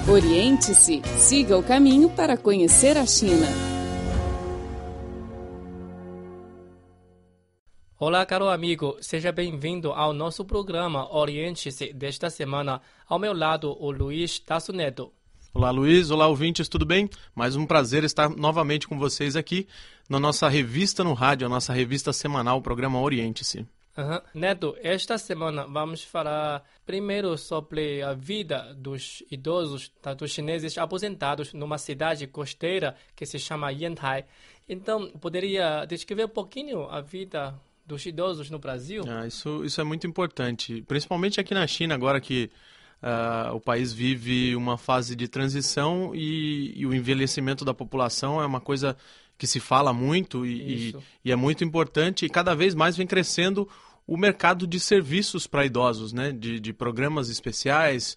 Oriente-se, siga o caminho para conhecer a China. Olá, caro amigo, seja bem-vindo ao nosso programa Oriente-se desta semana. Ao meu lado, o Luiz Tasso Neto. Olá, Luiz. Olá, ouvintes, tudo bem? Mais um prazer estar novamente com vocês aqui na nossa revista no rádio, a nossa revista semanal, o programa Oriente-se. Neto, esta semana vamos falar primeiro sobre a vida dos idosos, dos chineses aposentados numa cidade costeira que se chama Yantai. Então, poderia descrever um pouquinho a vida dos idosos no Brasil? Isso é muito importante, principalmente aqui na China, agora que o país vive uma fase de transição e o envelhecimento da população é uma coisa que se fala muito e é muito importante, e cada vez mais vem crescendo o mercado de serviços para idosos, né? De programas especiais,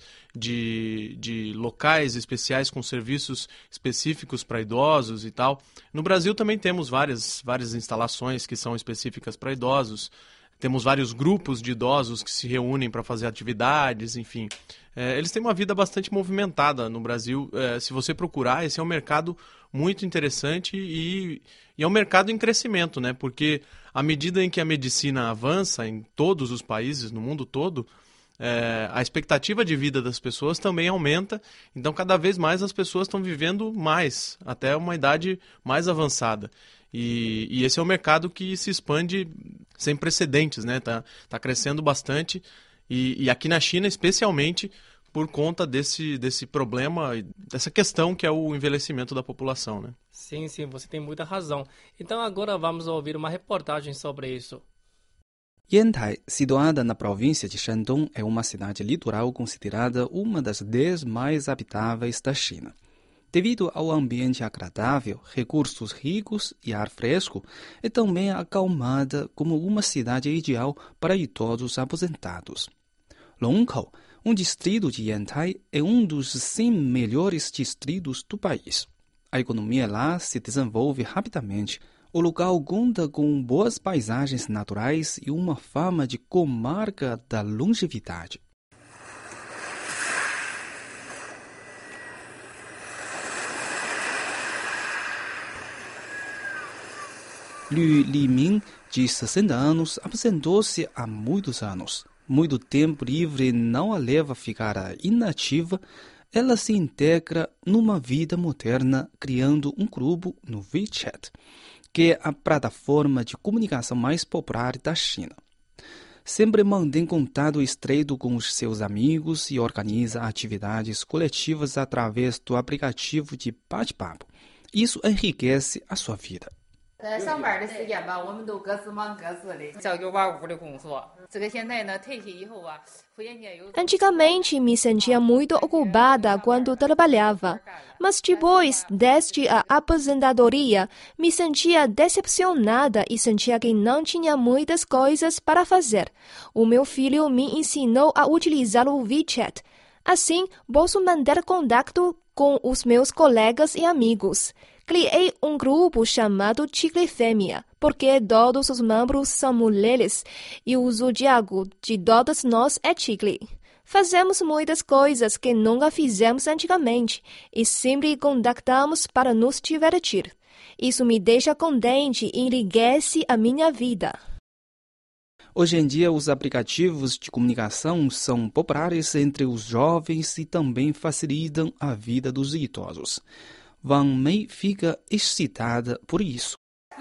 de locais especiais com serviços específicos para idosos e tal. No Brasil também temos várias instalações que são específicas para idosos. Temos vários grupos de idosos que se reúnem para fazer atividades, enfim. Eles têm uma vida bastante movimentada no Brasil. Se você procurar, esse é um mercado muito interessante e é um mercado em crescimento, né? Porque à medida em que a medicina avança em todos os países, no mundo todo, a expectativa de vida das pessoas também aumenta. Então, cada vez mais as pessoas estão vivendo mais, até uma idade mais avançada. E esse é um mercado que se expande sem precedentes, né? Tá crescendo bastante e aqui na China, especialmente por conta desse problema, dessa questão que é o envelhecimento da população, né? Sim, você tem muita razão. Então agora vamos ouvir uma reportagem sobre isso. Yantai, situada na província de Shandong, é uma cidade litoral considerada uma das 10 mais habitáveis da China. Devido ao ambiente agradável, recursos ricos e ar fresco, é também acalmada como uma cidade ideal para idosos aposentados. Longkou, um distrito de Yantai, é um dos 100 melhores distritos do país. A economia lá se desenvolve rapidamente. O local conta com boas paisagens naturais e uma fama de comarca da longevidade. Liu Liming, de 60 anos, aposentou-se há muitos anos. Muito tempo livre não a leva a ficar inativa. Ela se integra numa vida moderna, criando um grupo no WeChat, que é a plataforma de comunicação mais popular da China. Sempre mantém contato estreito com os seus amigos e organiza atividades coletivas através do aplicativo de bate-papo. Isso enriquece a sua vida. Antigamente me sentia muito ocupada quando trabalhava, mas depois, desde a aposentadoria, me sentia decepcionada e sentia que não tinha muitas coisas para fazer. O meu filho me ensinou a utilizar o WeChat. Assim, posso manter contato com os meus colegas e amigos. Criei um grupo chamado Chicle Fêmea, porque todos os membros são mulheres e o zodíaco de todas nós é Chicle. Fazemos muitas coisas que nunca fizemos antigamente e sempre contactamos para nos divertir. Isso me deixa contente e enriquece a minha vida. Hoje em dia, os aplicativos de comunicação são populares entre os jovens e também facilitam a vida dos idosos. Wang Mei fica excitada por isso.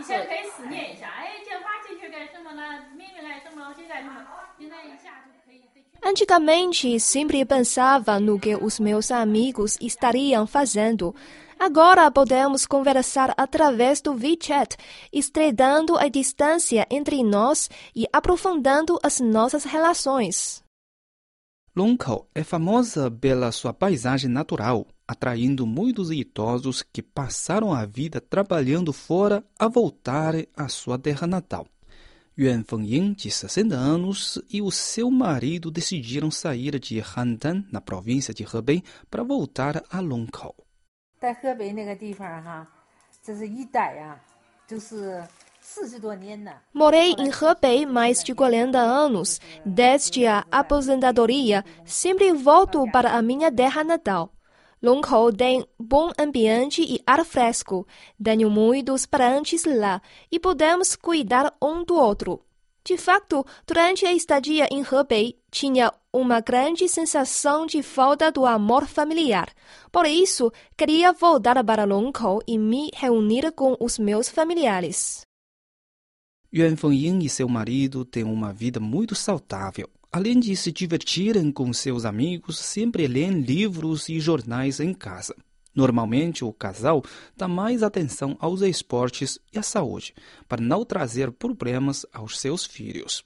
Antigamente, sempre pensava no que os meus amigos estariam fazendo. Agora podemos conversar através do WeChat, estreitando a distância entre nós e aprofundando as nossas relações. Longkou é famosa pela sua paisagem natural, atraindo muitos idosos que passaram a vida trabalhando fora a voltarem à sua terra natal. Yuan Fengying, de 60 anos, e o seu marido decidiram sair de Handan, na província de Hebei, para voltar a Longkou. Morei em Hebei mais de 40 anos. Desde a aposentadoria, sempre volto para a minha terra natal. Longhou tem bom ambiente e ar fresco. Tenho muitos parentes lá e podemos cuidar um do outro. De fato, durante a estadia em Hebei, tinha uma grande sensação de falta do amor familiar. Por isso, queria voltar para Longhou e me reunir com os meus familiares. Yuan Fengying e seu marido têm uma vida muito saudável. Além de se divertirem com seus amigos, sempre leem livros e jornais em casa. Normalmente, o casal dá mais atenção aos esportes e à saúde, para não trazer problemas aos seus filhos.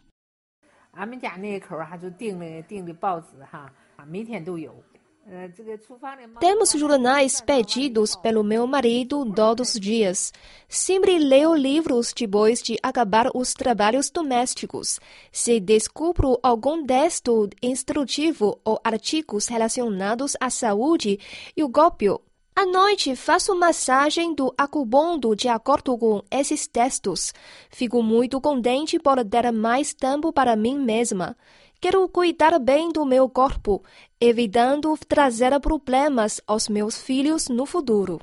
Temos jornais pedidos pelo meu marido todos os dias. Sempre leio livros depois de acabar os trabalhos domésticos. Se descubro algum texto instrutivo ou artigos relacionados à saúde, eu copio. À noite, faço massagem do acupunto de acordo com esses textos. Fico muito contente por ter mais tempo para mim mesma. Quero cuidar bem do meu corpo, evitando trazer problemas aos meus filhos no futuro.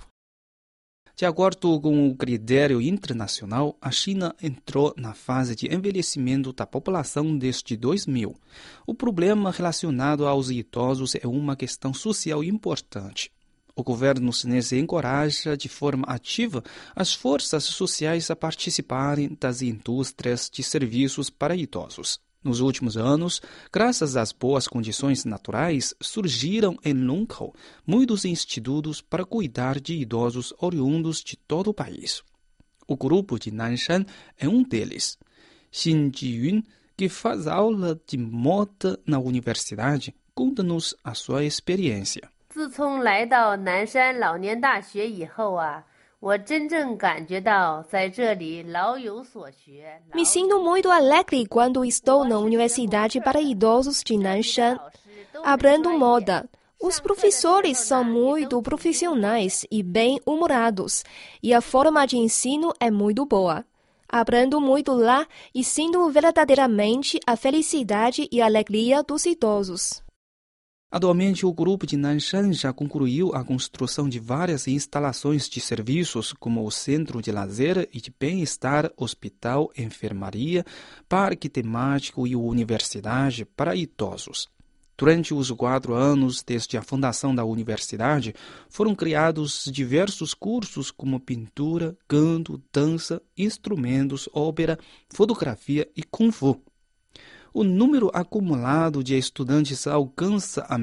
De acordo com o critério internacional, a China entrou na fase de envelhecimento da população desde 2000. O problema relacionado aos idosos é uma questão social importante. O governo chinês encoraja de forma ativa as forças sociais a participarem das indústrias de serviços para idosos. Nos últimos anos, graças às boas condições naturais, surgiram em Longhou muitos institutos para cuidar de idosos oriundos de todo o país. O grupo de Nanshan é um deles. Xin Jiyun, que faz aula de moda na universidade, conta-nos a sua experiência. 自从来到南山老年大学以后我真正感觉到在这里老有所学。 Me sinto muito alegre quando estou na Universidade para Idosos de Nanshan. Aprendo moda. Os professores são muito profissionais e bem-humorados, e a forma de ensino é muito boa. Aprendo muito lá e sinto verdadeiramente a felicidade e a alegria dos idosos. Atualmente, o grupo de Nanshan já concluiu a construção de várias instalações de serviços, como o Centro de Lazer e de Bem-Estar, Hospital, Enfermaria, Parque Temático e Universidade para Idosos. Durante os 4 anos desde a fundação da universidade, foram criados diversos cursos como pintura, canto, dança, instrumentos, ópera, fotografia e Kung Fu. O número acumulado de estudantes alcança a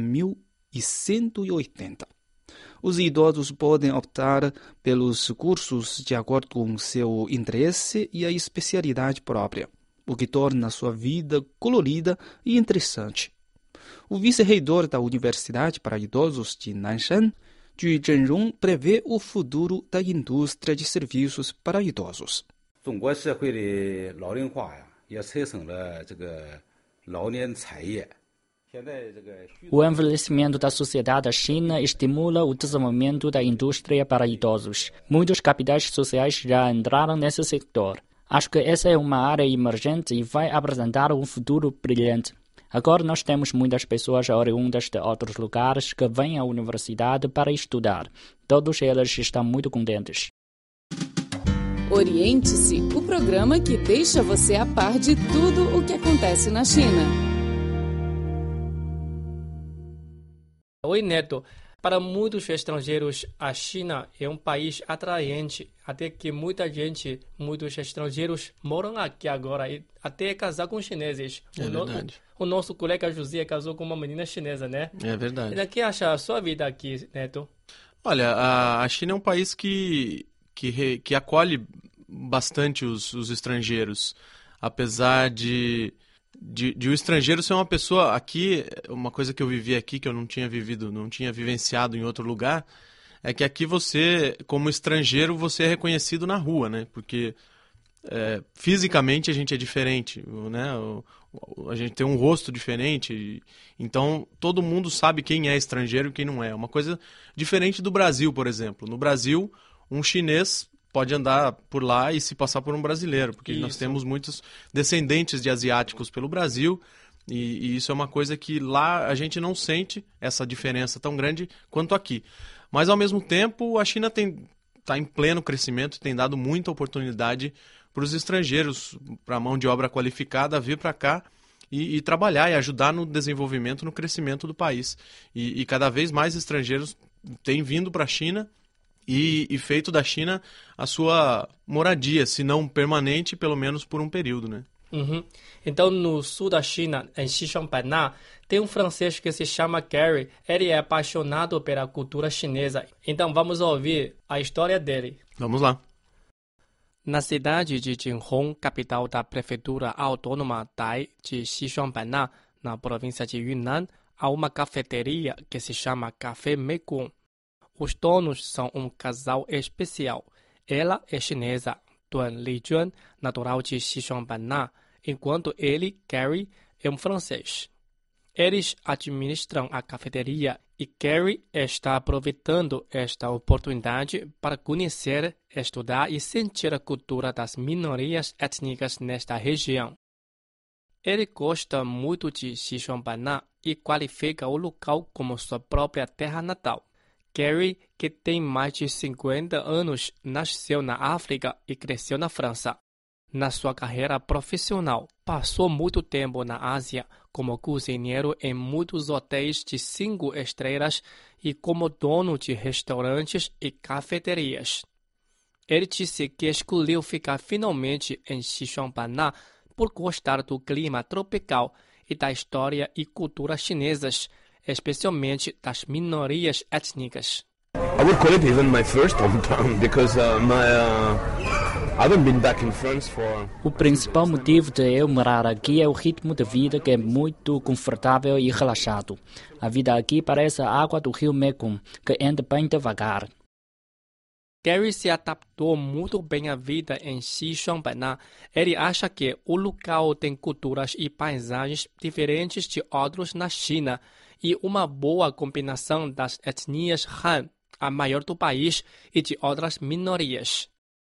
1.180. Os idosos podem optar pelos cursos de acordo com seu interesse e a especialidade própria, o que torna sua vida colorida e interessante. O vice-reitor da Universidade para Idosos de Nanshan, Ju Zhenrong, prevê o futuro da indústria de serviços para idosos. O envelhecimento da sociedade da China estimula o desenvolvimento da indústria para idosos. Muitos capitais sociais já entraram nesse setor. Acho que essa é uma área emergente e vai apresentar um futuro brilhante. Agora nós temos muitas pessoas oriundas de outros lugares que vêm à universidade para estudar. Todos eles estão muito contentes. Oriente-se, o programa que deixa você a par de tudo o que acontece na China. Oi, Neto. Para muitos estrangeiros, a China é um país atraente, até que muitos estrangeiros moram aqui agora e até casar com chineses. É verdade. O nosso colega José casou com uma menina chinesa, né? É verdade. E o que acha a sua vida aqui, Neto? Olha, a China é um país que acolhe bastante os estrangeiros, apesar de o estrangeiro ser uma pessoa aqui, uma coisa que eu vivi aqui que eu não tinha vivenciado em outro lugar, é que aqui você, como estrangeiro, você é reconhecido na rua, né? Porque fisicamente a gente é diferente, né? A gente tem um rosto diferente, então todo mundo sabe quem é estrangeiro e quem não é. Uma coisa diferente do Brasil, por exemplo. No Brasil, um chinês pode andar por lá e se passar por um brasileiro, porque nós temos muitos descendentes de asiáticos pelo Brasil E isso é uma coisa que lá a gente não sente essa diferença tão grande quanto aqui. Mas, ao mesmo tempo, a China está em pleno crescimento, tem dado muita oportunidade para os estrangeiros, para a mão de obra qualificada vir para cá e trabalhar e ajudar no desenvolvimento, no crescimento do país. E cada vez mais estrangeiros têm vindo para a China e feito da China a sua moradia, se não permanente, pelo menos por um período, né? Uhum. Então, no sul da China, em Xishuangbanna, tem um francês que se chama Gary. Ele é apaixonado pela cultura chinesa. Então, vamos ouvir a história dele. Vamos lá. Na cidade de Jinhong, capital da prefeitura autônoma Dai de Xishuangbanna, na província de Yunnan, há uma cafeteria que se chama Café Mekong. Os donos são um casal especial. Ela é chinesa, Duan Lijuan, natural de Xishuangbanna, enquanto ele, Gary, é um francês. Eles administram a cafeteria e Gary está aproveitando esta oportunidade para conhecer, estudar e sentir a cultura das minorias étnicas nesta região. Ele gosta muito de Xishuangbanna e qualifica o local como sua própria terra natal. Gary, que tem mais de 50 anos, nasceu na África e cresceu na França. Na sua carreira profissional, passou muito tempo na Ásia como cozinheiro em muitos hotéis de 5 estrelas e como dono de restaurantes e cafeterias. Ele disse que escolheu ficar finalmente em Xishuangbanna por gostar do clima tropical e da história e cultura chinesas, especialmente das minorias étnicas. I would call it even my first hometown because I haven't been back in France for... O principal motivo de eu morar aqui é o ritmo de vida que é muito confortável e relaxado. A vida aqui parece a água do rio Mekong, que anda bem devagar. Gary se adaptou muito bem à vida em Xishuangbanna. Ele acha que o local tem culturas e paisagens diferentes de outros na China e uma boa combinação das etnias Han, a maior do país, e de outras minorias.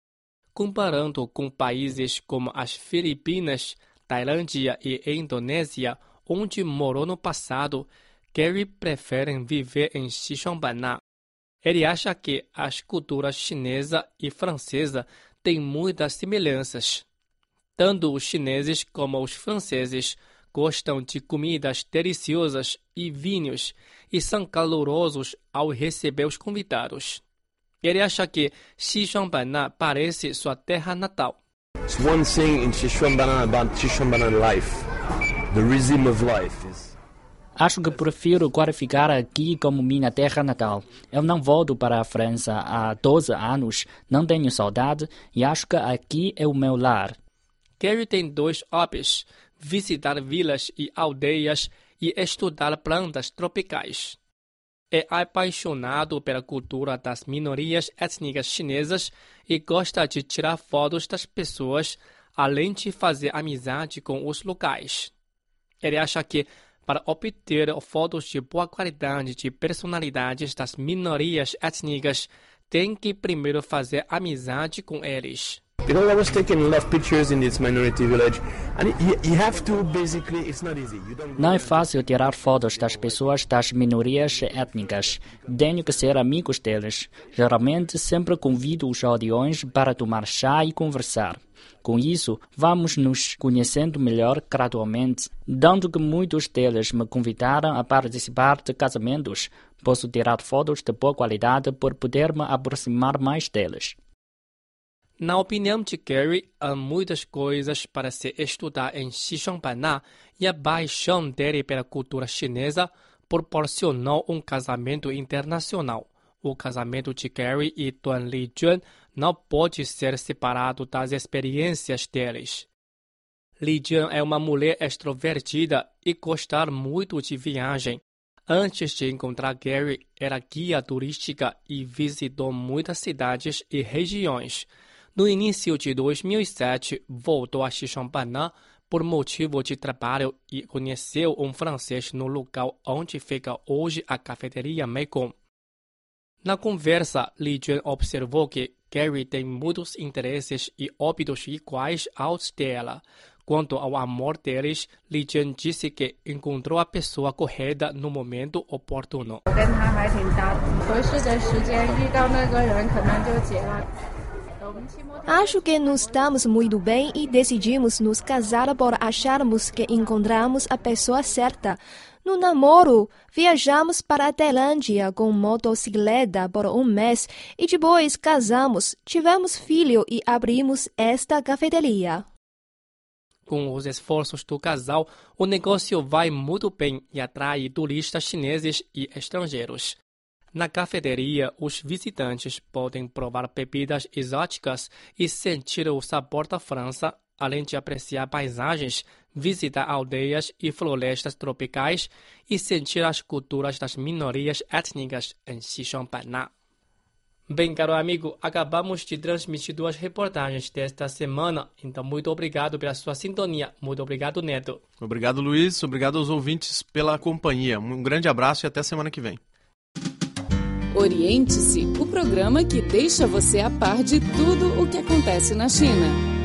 Comparando com países como as Filipinas, Tailândia e Indonésia, onde morou no passado, Gary prefere viver em Xishuangbanna. Ele acha que as culturas chinesa e francesa têm muitas semelhanças. Tanto os chineses como os franceses gostam de comidas deliciosas e vinhos e são calorosos ao receber os convidados. Ele acha que Xishuangbanna parece sua terra natal. It's one thing in Xishuangbanna about Xishuangbanna life. The rhythm of life is... Acho que prefiro qualificar aqui como minha terra natal. Eu não volto para a França há 12 anos, não tenho saudade e acho que aqui é o meu lar. Gary tem 2 hobbies: visitar vilas e aldeias e estudar plantas tropicais. É apaixonado pela cultura das minorias étnicas chinesas e gosta de tirar fotos das pessoas, além de fazer amizade com os locais. Ele acha que, para obter fotos de boa qualidade de personalidades das minorias étnicas, tem que primeiro fazer amizade com eles. Because I was taking a lot of pictures in this minority village, and you have to basically, it's not easy. Não é fácil tirar fotos das pessoas das minorias étnicas. Tenho que ser amigos deles. Geralmente sempre convido os aldeões para tomar chá e conversar. Com isso, vamos nos conhecendo melhor gradualmente. Dado que muitos deles me convidaram a participar de casamentos, posso tirar fotos de boa qualidade por poder me aproximar mais deles. Na opinião de Gary, há muitas coisas para se estudar em Xishuangbanna e a paixão dele pela cultura chinesa proporcionou um casamento internacional. O casamento de Gary e Duan Lijuan não pode ser separado das experiências deles. Lijuan é uma mulher extrovertida e gosta muito de viagem. Antes de encontrar Gary, era guia turística e visitou muitas cidades e regiões. No início de 2007, voltou a Xishuangbanna por motivo de trabalho e conheceu um francês no local onde fica hoje a cafeteria Mekong. Na conversa, Lijuan observou que Gary tem muitos interesses e hábitos iguais aos dela, Quanto ao amor deles, Li Jian disse que encontrou a pessoa correta no momento oportuno. Acho que nos damos muito bem e decidimos nos casar por acharmos que encontramos a pessoa certa. No namoro, viajamos para a Tailândia com motocicleta por um mês e depois casamos, tivemos filho e abrimos esta cafeteria. Com os esforços do casal, o negócio vai muito bem e atrai turistas chineses e estrangeiros. Na cafeteria, os visitantes podem provar bebidas exóticas e sentir o sabor da França, além de apreciar paisagens, visitar aldeias e florestas tropicais e sentir as culturas das minorias étnicas em Xishuangbanna. Bem, caro amigo, acabamos de transmitir 2 reportagens desta semana, então muito obrigado pela sua sintonia. Muito obrigado, Neto. Obrigado, Luiz. Obrigado aos ouvintes pela companhia. Um grande abraço e até semana que vem. Oriente-se, o programa que deixa você a par de tudo o que acontece na China.